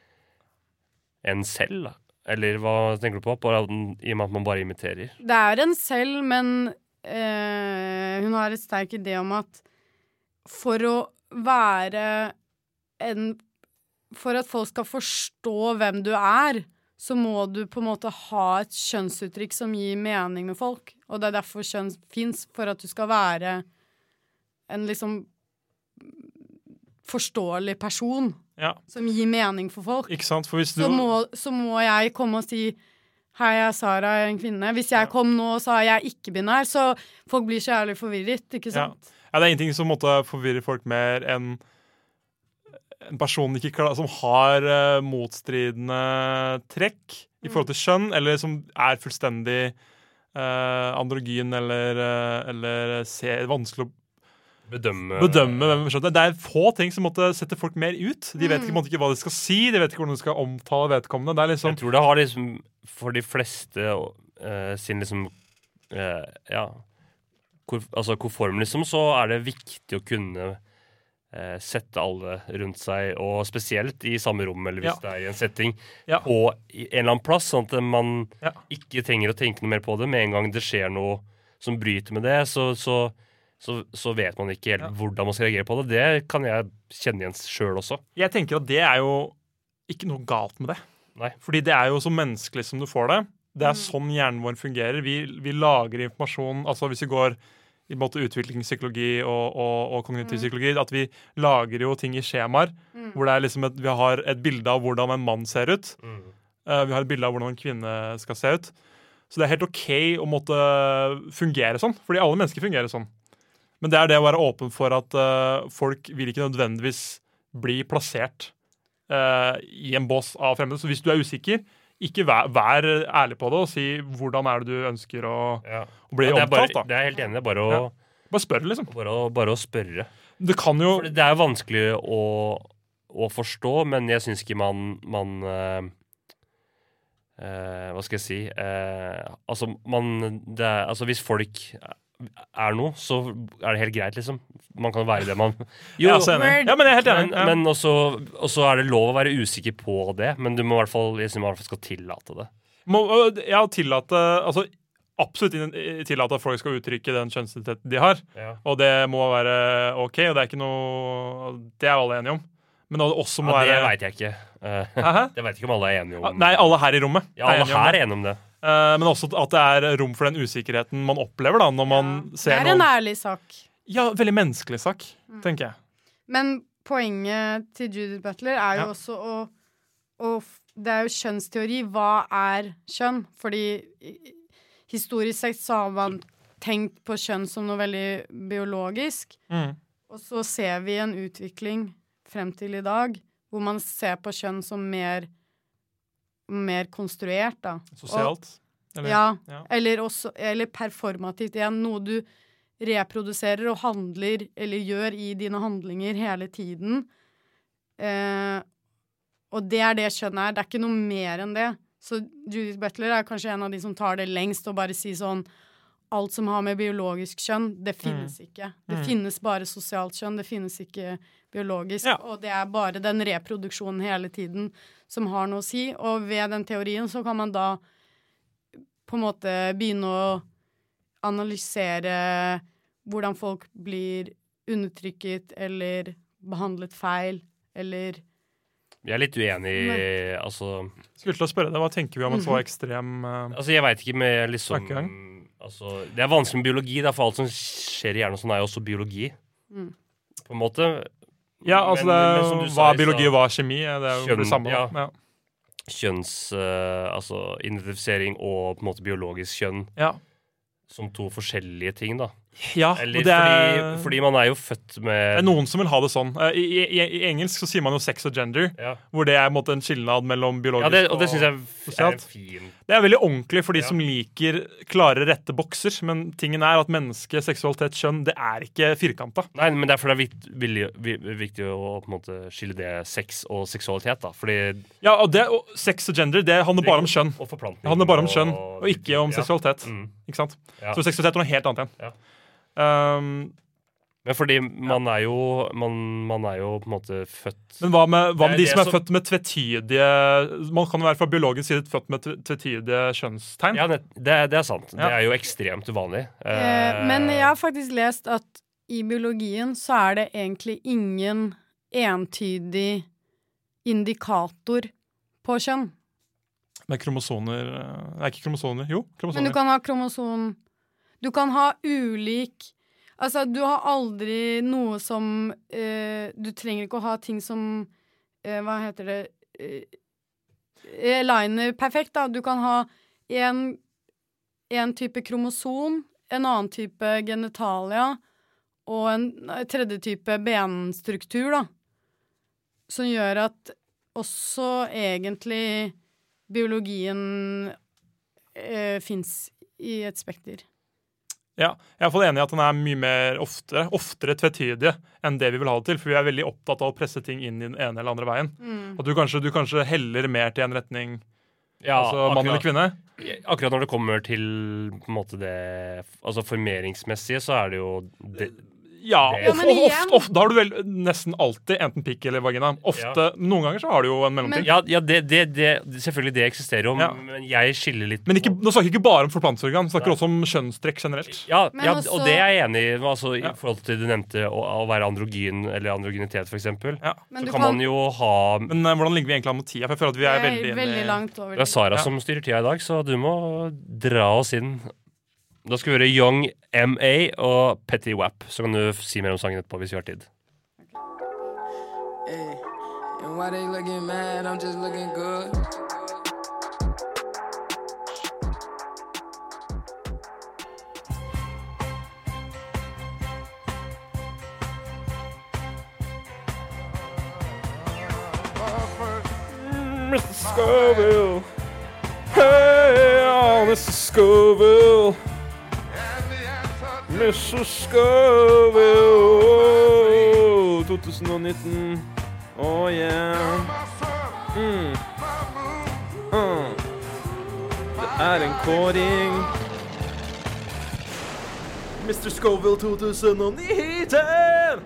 en selv, da. Eller hva tenker du på? Bare at den, I og med at man bare imiterer. det er en selv, men eh, hun har et sterk idé om at for å være en For at folk skal forstå hvem du er, så må du på en måte ha et kjønnsuttrykk som gir mening med folk. Og det er derfor kjønn fins, for at du skal være en liksom forståelig person Ja, som gir mening for folk. ikke sant? For hvis du Så må, så må jeg komme og si hei, jeg er Sara, jeg er en kvinne. Hvis jeg kom nå og sa jeg er ikke-binær, så folk blir så jævlig forvirret, ikke Ja. sant? Ja, det er ingenting som måtte forvirre folk mer enn en person ikke klar, som har uh, motstridende trekk i forhold til kjønn, eller som er fullstendig uh, androgyn eller, uh, eller ser, vanskelig å Bedømme bedømme hvem skjønner. Det er få ting som måtte sette folk mer ut. De vet Mm. ikke, måtte ikke hva de skal si, de vet ikke hvordan de skal omtale vedkommende. Det er liksom Jeg tror det har liksom for de fleste eh, sin liksom eh, Ja. Hvor, altså konform, liksom, så er det viktig å kunne eh, sette alle rundt seg, og spesielt i samme rom, eller hvis Ja. det er i en setting, Ja. på i en eller annen plass, sånn at man Ja. ikke trenger å tenke noe mer på det. Med en gang det skjer noe som bryter med det, så, så, så, så vet man ikke helt Ja. hvordan man skal reagere på det. Det kan jeg kjenne igjen sjøl også. Jeg tenker at det er jo ikke noe galt med det. Nei. Fordi det er jo så menneskelig som du får det. Det er sånn hjernen vår fungerer. Vi, vi lager informasjon. Altså hvis vi går i en måte utviklingspsykologi og, og, og kognitiv psykologi, at vi lager jo ting i skjemaer. Hvor det er liksom et, vi har et bilde av hvordan en mann ser ut. Eh, vi har et bilde av hvordan en kvinne skal se ut. Så det er helt OK å måtte fungere sånn. Fordi alle mennesker fungerer sånn. Men det er det å være åpen for at eh, folk vil ikke nødvendigvis bli plassert eh, i en bås av fremmede. Så hvis du er usikker, ikke vær, vær ærlig på det og si hvordan er det du ønsker å, Ja. å bli Ja, det, er bare, omtalt. da. det er jeg helt enig. Det er bare å, Ja. Bare spør, liksom. bare å, bare å spørre. Det kan jo For det er vanskelig å, å forstå, men jeg syns ikke man, man eh, eh, Hva skal jeg si eh, Altså, man det er, altså hvis folk er noe, så er det helt greit, liksom. Man kan være det man Jeg er også enig. Ja, men jeg er helt enig. men, Ja. men også, også er det lov å være usikker på det, men du må i hvert fall, jeg synes man i hvert fall skal tillate det. Må, øh, ja, tillate Altså absolutt inn- tillate at folk skal uttrykke den kjønnsidentiteten de har. Ja. Og det må være OK, og det er ikke noe Det er alle enige om. Men det også må Ja, det være veit jeg ikke. Eh, Hæ? det veit ikke om alle er enige om. Nei, alle her i rommet Ja, alle enige om her det. er enige om det. Eh, men også at det er rom for den usikkerheten man opplever da når man Det ser er en noen ærlig sak. Ja, veldig menneskelig sak, tenker jeg. Men poenget til Judith Butler er jo Ja. også å, å f- Det er jo kjønnsteori. Hva er kjønn? Fordi i- historisk sett så har man tenkt på kjønn som noe veldig biologisk. Mm. Og så ser vi en utvikling frem til i dag hvor man ser på kjønn som mer mer konstruert, da. Sosialt? Eller, ja, ja. Eller, også, eller performativt igjen. Noe du reproduserer og handler, eller gjør i dine handlinger hele tiden. Eh, og det er det kjønn er. Det er ikke noe mer enn det. Så Judith Butler er kanskje en av de som tar det lengst og bare sier sånn alt som har med biologisk kjønn, det finnes mm. ikke. Det mm. finnes bare sosialt kjønn, det finnes ikke biologisk. Ja. Og det er bare den reproduksjonen hele tiden som har noe å si. Og ved den teorien så kan man da på en måte begynne å analysere hvordan folk blir undertrykket eller behandlet feil, eller Jeg er litt uenig i altså, Skulle til å spørre deg, hva tenker vi om en så ekstrem uh, Altså, jeg vet ikke med liksom altså, det er vanskelig med biologi, da, for alt som skjer i hjernen sånn er jo også biologi. Mm. På en måte. Ja, altså, men, det, men, hva sa, er biologi og hva er kjemi? Det er jo kjønn, det samme. Ja. Ja. Kjønns, uh, altså identifisering og på en måte biologisk kjønn. Ja. Som to forskjellige ting, da. Ja, Eller det er, fordi, fordi man er jo født med Det er noen som vil ha det sånn. I, i, i engelsk så sier man jo sex og gender, ja. Hvor det er en, måte, en skilnad mellom biologisk ja, det, og det synes jeg sosialt. Er fin. Det er veldig ordentlig for de ja. Som liker klare, rette bokser, men tingen er at menneske, seksualitet, kjønn, det er ikke firkanta. Nei, men derfor er det viktig, viktig å på en måte skille det sex og seksualitet, da. Fordi ja, og, det, og sex og gender, det handler bare om kjønn. Og forplantning. Det handler bare om kjønn, og ikke om ja. Seksualitet. Mm. Ikke sant? Ja. Så seksualitet er noe helt annet igjen. Ja. Um, men fordi man er jo man, man er jo på en måte født Men hva med, hva med de som er så... født med tvetydige Man kan jo være fra biologisk side født med tvetydige kjønnstegn. Ja, det, det, det er sant. Ja. Det er jo ekstremt uvanlig. Eh, men jeg har faktisk lest at i biologien så er det egentlig ingen entydig indikator på kjønn. Med kromosoner Nei, ikke kromosoner. Jo, kromosoner. Men du kan ha kromoson Du kan ha ulik Altså, du har aldri noe som eh, Du trenger ikke å ha ting som eh, Hva heter det eh, Liner perfekt, da. Du kan ha en, en type kromosom, en annen type genitalia og en tredje type benstruktur, da. Som gjør at også egentlig biologien eh, fins i et spekter. Ja, jeg er i hvert fall enig i at den er mye mer oftere, oftere tvetydige enn det vi vil ha det til, for vi er veldig opptatt av å presse ting inn i den ene eller andre veien. Mm. At du kanskje, du kanskje heller mer til en retning, ja, altså mann eller kvinne. Akkurat når det kommer til på en måte det, altså formeringsmessige, så er det jo det, ja, ja ofte, ofte, ofte, da har du vel nesten alltid enten pikk eller vagina. Ofte, ja. Noen ganger så har du jo en mellomting. Ja, ja det, det, det, selvfølgelig det eksisterer jo, ja. Men jeg skiller litt. Men ikke, nå snakker jeg ikke bare om forplantningsorgan, vi snakker Nei. Også om kjønnstrekk generelt. Ja, ja også, og det er jeg enig i, altså, ja. I forhold til det du nevnte, å, å være androgyn eller androgynitet for eksempel. Ja. Så kan, kan man jo ha... Men uh, hvordan ligger vi egentlig an mot tida? For jeg føler at vi er veldig... veldig langt over. Det er Sara ja. Som styrer tida i dag, så du må dra oss inn. Da skal vi høre Young M A og Petty Wap. Så kan du si mer om sangen etterpå hvis vi har tid. Hey, and why they looking mad, I'm just looking good. mister Scoville. Hey, oh, mister Scoville. mister Scoville. Oh, tjue nitten. Oh yeah. Mm. Mm. Det er en kåring. mister Scoville tjue nitten.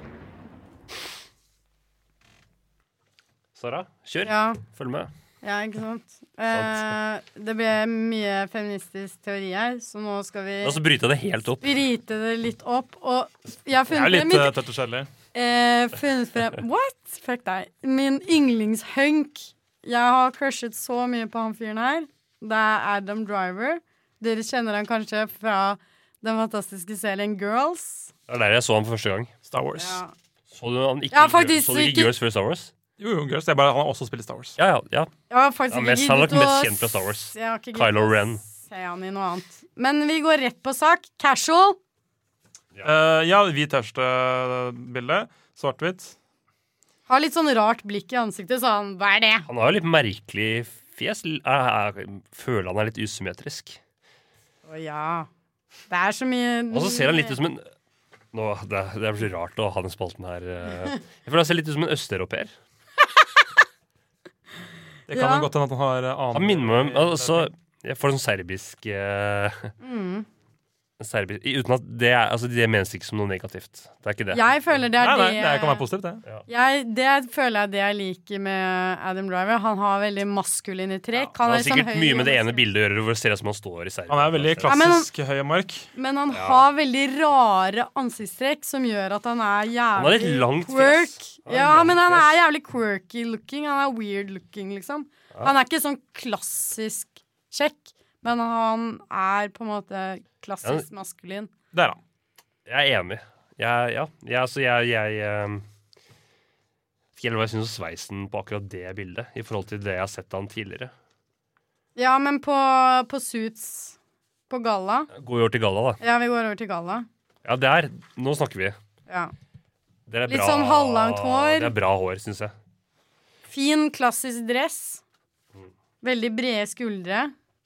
Sara, kjør. Ja. Følg med. Ja, ikke sant. Eh, det ble mye feministisk teori her, så nå skal vi Og så bryte det helt opp. Bryte det litt opp. Og jeg har funnet Det er litt uh, tøtt og kjedelig. Eh, funnet frem What? Fuck deg. Min yndlingshunk. Jeg har crushet så mye på han fyren her. Det er Adam Driver. Dere kjenner han kanskje fra den fantastiske serien Girls. Det er der jeg så han for første gang. Star Wars. Ja. Så du han ikke, ja, faktisk, så du ikke Girls før Star Wars? Jo, jo, Girls. Det er bare han har også spilt Star Ja, ja, ja. Jeg har faktisk ja, mest, han er nok mest kjent fra Star Wars. Kylo Ren. Se han i noe annet. Men vi går rett på sak. Casual. Ja, uh, ja hvit tørste-bilde. Svart-hvitt. Har litt sånn rart blikk i ansiktet, så han, hva er det? Han har jo litt merkelig fjes jeg, jeg føler han er litt usymmetrisk. Å ja. Det er så mye Og så ser han litt ut som en Nå, det, det blir rart å ha den spalten her. Jeg føler han ser litt ut som en østeuropeer. Det kan jo Ja. godt hende at han har eh, annen Han minner meg om altså, Jeg får sånn serbisk eh, mm. serbisk Uten at det er Altså, det menes ikke som noe negativt. Det er ikke det. Jeg føler det er Nei, nei, det det kan være positivt, det. jeg, Det føler jeg det jeg liker med Adam Driver. Han har veldig maskuline trekk. Det Han har er liksom sikkert høy mye med det og- ene bildet å gjøre, hvor det ser ut som han står i Serbia. Han er veldig Ja, men- klassisk høy og mørk. Men han Ja. har veldig rare ansiktstrekk som gjør at han er jævlig Han har litt langt fjes. quirk. Han har Ja, langt men han fjes. er jævlig quirky looking. Han er weird looking, liksom. Han er ikke sånn klassisk kjekk, men han er på en måte klassisk maskulin. Der, da. Jeg er enig. Jeg, ja, jeg, altså, jeg, jeg eh, Vet ikke hva jeg syns om sveisen på akkurat det bildet, i forhold til det jeg har sett han tidligere. Ja, men på, på Suits på galla. Går vi over til galla, da. Ja, vi går over til galla. Ja, det er Nå snakker vi. Ja. Det er Litt bra, sånn halvlangt hår. Det er bra hår, syns jeg. Fin, klassisk dress. Veldig brede skuldre.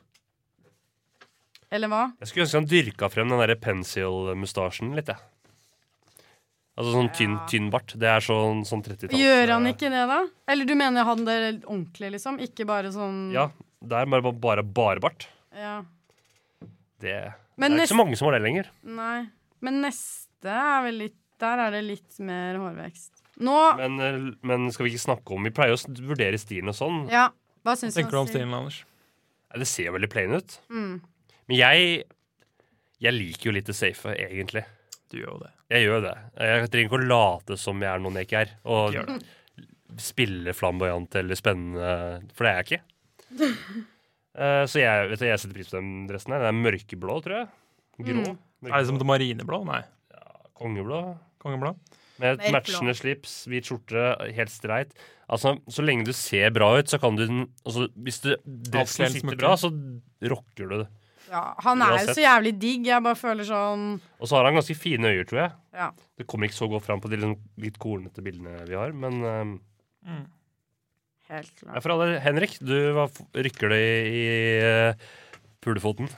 Eller hva? Jeg skulle ønske han dyrka frem den derre pencil-mustasjen litt, jeg. Altså sånn tynn, tynn bart. Det er sånn, sånn trettitalls. Gjør han ikke det, da? Eller du mener han det ordentlig, liksom? Ikke bare sånn Ja, det er bare bare, bare bart. Ja. Det, Men det er nest- ikke så mange som har det lenger. Nei. Men neste er vel litt Der er det litt mer hårvekst. Nå Men, eh, men skal vi ikke snakke om Vi pleier jo å s- vurdere stilen og sånn. Ja. Hva syns du? Tenker du om stilen, Anders? Ja, det ser jo veldig plain ut. Mm. Men jeg Jeg liker jo litt det safe, egentlig. Du gjør jo det. Jeg gjør det. Jeg trenger ikke å late som jeg er noen jeg ikke er. Og Gjør det. spille flamboyant eller spennende, for det er jeg ikke. Eh, så jeg, vet du, jeg setter pris på den dressen her. Den er mørkeblå, tror jeg. Grå. Mm. Er det som et marineblå? Nei. Kongeblå. Kongeblå? Med et Mørkblå. matchende slips, hvit skjorte, helt streit. Altså, så lenge du ser bra ut, så kan du den altså, Hvis du dressen Avkledd sitter smykke. bra, så rocker du det. Ja, han er jo Uansett. så jævlig digg. Jeg bare føler sånn Og så har han ganske fine øyer, tror jeg. Ja. Det kommer ikke så godt fram på de liksom litt kornete bildene vi har, men um, Mm. Helt ja, klart. for alle, Henrik, du hva f- rykker det i, i uh, pulefoten.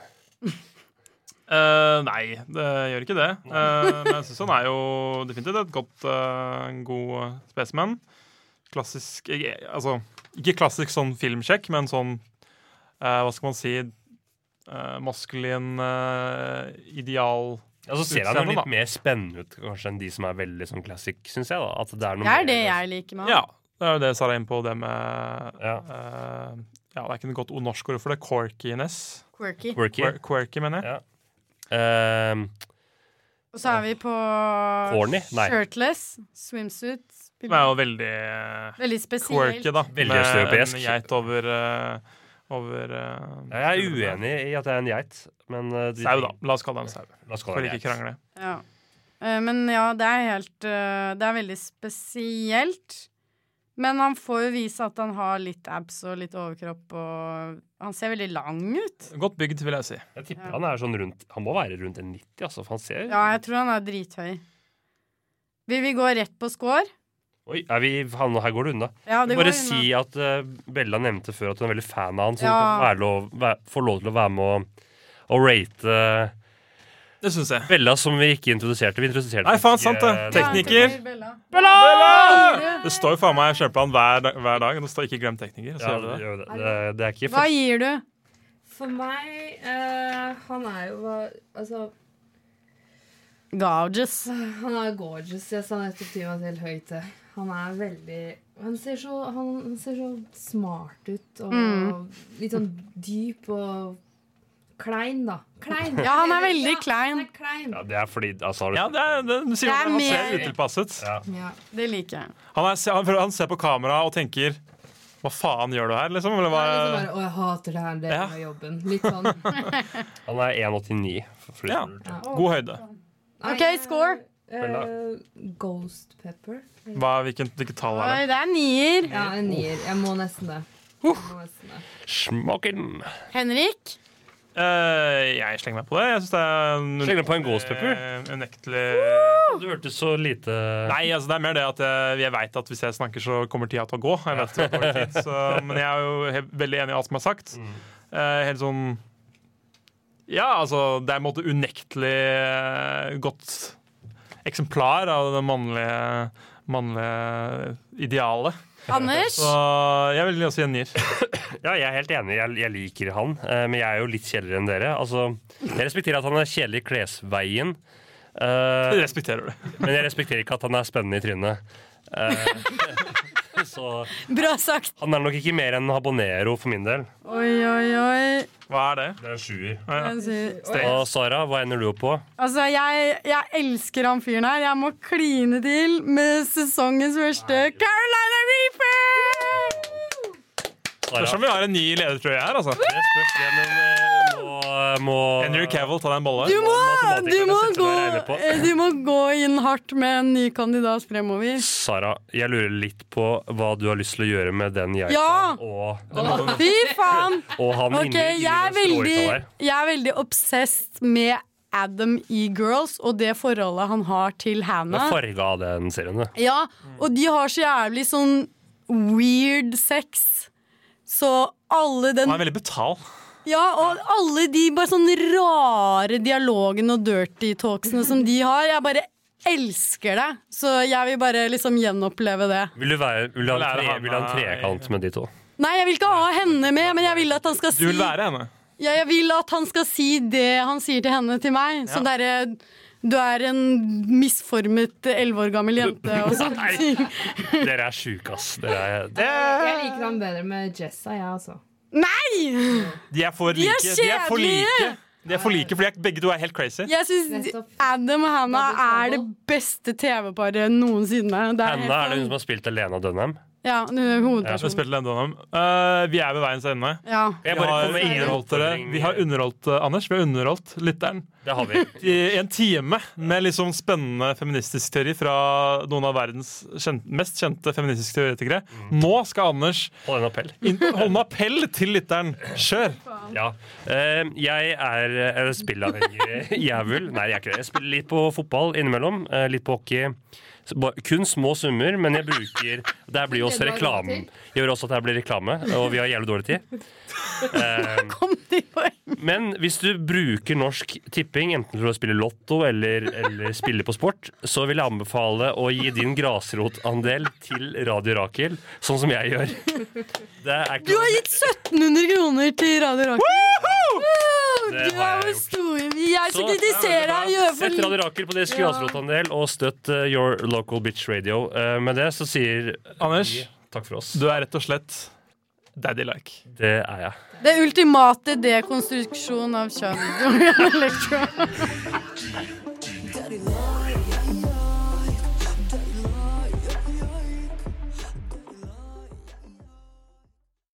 Eh, nei, det gjør ikke det. Eh, men jeg syns han er jo definitivt et godt, eh, en god spesimen. Klassisk ikke- Altså, ikke klassisk sånn filmsjekk, men sånn eh, hva skal man si eh, maskulin eh, ideal Ja, så ser han jo utseende, litt da. mer spennende ut kanskje enn de som er veldig sånn classic, syns jeg. da At det er noe Det er mer- det jeg liker med han. Ja, det er jo det Sara er inne på, det med Ja. eh, Ja, det er ikke noe godt ord norsk ord for det. Quirkiness. Quirky. Quirky. Quir- Quirky, mener jeg. Ja. Um, Og så er vi på Corny? Nei. shirtless, swimsuit. Det er jo veldig Veldig spesielt. quirky, da. Veldig med østeuropeisk. en geit over eh, Over eh, jeg er uenig i at det er en geit, men uh, de- Sau, da. La oss kalle det en sau. La oss kalle For det ikke geit. krangle. Ja. Eh, men ja, det er helt eh, Det er veldig spesielt. Men han får jo vise at han har litt abs og litt overkropp, og han ser veldig lang ut. Godt bygd, vil jeg si. Jeg tipper Ja. han er sånn rundt Han må være rundt en nitti, altså, for han ser Ja, jeg tror han er drithøy. Vil vi gå rett på score? Oi, er vi, han, her går det unna. Ja, det Bare går unna. si at uh, Bella nevnte før at hun er veldig fan av han, så hun Ja. kan være lov, væ- få lov til å være med å, å rate Det syns jeg. Bella, som vi ikke introduserte. Vi introduserte Nei, faen, ikke, sant det. eh, Tekniker. Ja, Bella. Bella! Det står jo faen meg i kjøreplanen hver, dag- hver dag. Det står ikke 'glem tekniker'. Så Ja, gjør det det, det. gjør det. Det, det er ikke Hva gir du? For meg eh, Han er jo hva- Altså, Gorgeous. han er gorgeous. Jeg sa nettopp til meg til høyt. Han er veldig Han ser så, han, han ser så smart ut og Mm. litt sånn dyp og klein, da. Klein. Ja, han er veldig Ja, klein. Han er klein. Ja, det er fordi altså, har du, Ja, det er, det, du sier Det er at han ser mer- utilpasset. Ja. Ja. Det liker jeg. Han, er, han, han ser på kamera og tenker 'hva faen gjør du her', liksom? Eller hva? Han er liksom bare, Å, jeg hater det her, det Ja. er jobben. Litt sånn. Han er en åttini. for- Ja. Ja. God høyde. Nei, OK, eh, score. eh, Ghost pepper. Hva, hvilken, hvilket tall er Oi, det? det er nier. Ja, en nier. Jeg må nesten det. Jeg må nesten det. Smaken! Henrik? Uh, jeg slenger meg på det. Jeg synes det er Slenger du på en gåspepper? Unektelig Du hørtes så lite Nei, altså det er mer det at jeg, jeg vet at hvis jeg snakker, så kommer tida til å gå. Jeg vet det går tid, så, men jeg er jo helt, veldig enig i alt som er sagt. Mm. Uh, helt sånn Ja, altså det er en måte unektelig uh, godt eksemplar av det mannlige, mannlige idealet. Anders? Så jeg vil også gjengier. Ja, jeg er helt enig. Jeg, jeg liker han, uh, men jeg er jo litt kjedeligere enn dere. Altså, jeg respekterer at han er kjedelig i klesveien. Uh, det respekterer du. Men jeg respekterer ikke at han er spennende i trynet. Uh, så Bra sagt. Han er nok ikke mer enn habanero for min del. Oi, oi, oi. Hva er det? Det er en sjuer. Ja. Og Sara, hva ender du opp på? Altså, jeg, jeg elsker han fyren her. Jeg må kline til med sesongens første Carolina Reaper! Spørs om vi har en ny leder, tror jeg her, altså. Det spørs det, men må, må Henry Cavill, ta deg en bolle. Du må, du, må gå, du må gå inn hardt med en ny kandidat fremover. Sara, jeg lurer litt på hva du har lyst til å gjøre med den geita. Ja! Og, Fy faen! og han Ok, inni, inni jeg er den veldig, stråhytta der. jeg er veldig obsessed med Adam i Girls og det forholdet han har til Det Hannah. er farga av den serien. det. Ja, og de har så jævlig sånn weird sex. Så alle den Han er veldig betal. Ja, og alle de bare sånn rare dialogene og dirty talksene som de har. Jeg bare elsker det. Så jeg vil bare liksom gjenoppleve det. Vil du, være, vil du, ha, en Lære tre, han, vil du ha en trekant med de to? Nei, jeg vil ikke ha henne med, men jeg vil at han skal si Du vil være henne? Ja, jeg vil at han skal si det han sier til henne til meg. Sånn derre du er en misformet elleve år gammel jente og sånt. Dere er sjuke, ass. Dere er, det... Jeg liker han bedre med Jessa, jeg, altså. Nei! De er for De er like. De er for like. kjedelige! De er for like, fordi jeg, begge to er helt crazy. Jeg synes Adam og Hannah er det beste T V-paret noensinne. Det er helt Hannah er det hun sånn- som har spilt Alena Dunham. Ja, hun er Jeg har hovedpersonen. spilt Lendonham. Uh, vi er ved veiens ende. Ja. Vi Jeg bare har kommer inn i underholdt dere. oppfordring. Vi har underholdt uh, Anders, vi har underholdt lytteren. Det har vi. I en time med liksom spennende feministisk teori fra noen av verdens kjent, mest kjente feministiske teoretikere. Nå skal Anders Hold en appell. inn, holde en appell til lytteren. Kjør! Ja. Eh, jeg er uh, spillavhengig jævel. Nei, jeg er ikke det. Jeg spiller litt på fotball innimellom. Uh, litt på hockey. Så ba- Kun små summer, men jeg bruker Det her blir jo også reklame. Jeg gjør også at det her blir reklame, og vi har jævlig dårlig tid. Eh, Kom til poeng. Men hvis du bruker Norsk Tipping, enten for å spille lotto eller, eller spille på sport, så vil jeg anbefale å gi din grasrotandel til Radio Rakel, sånn som jeg gjør. Det er ikke Du har gitt sytten hundre kroner til Radio Rakel. Det Du har er jeg jo gjort. stor. Jeg skal Så- kritisere deg. Gjør for Sett Radio Rakel på deres grasrotandel og støtt uh, Your Local Bitch Radio. Uh, med det så sier Anders, vi takk for oss. du er rett og slett daddy-like. Det er jeg. Det ultimate dekonstruksjon av kjønn. Electro.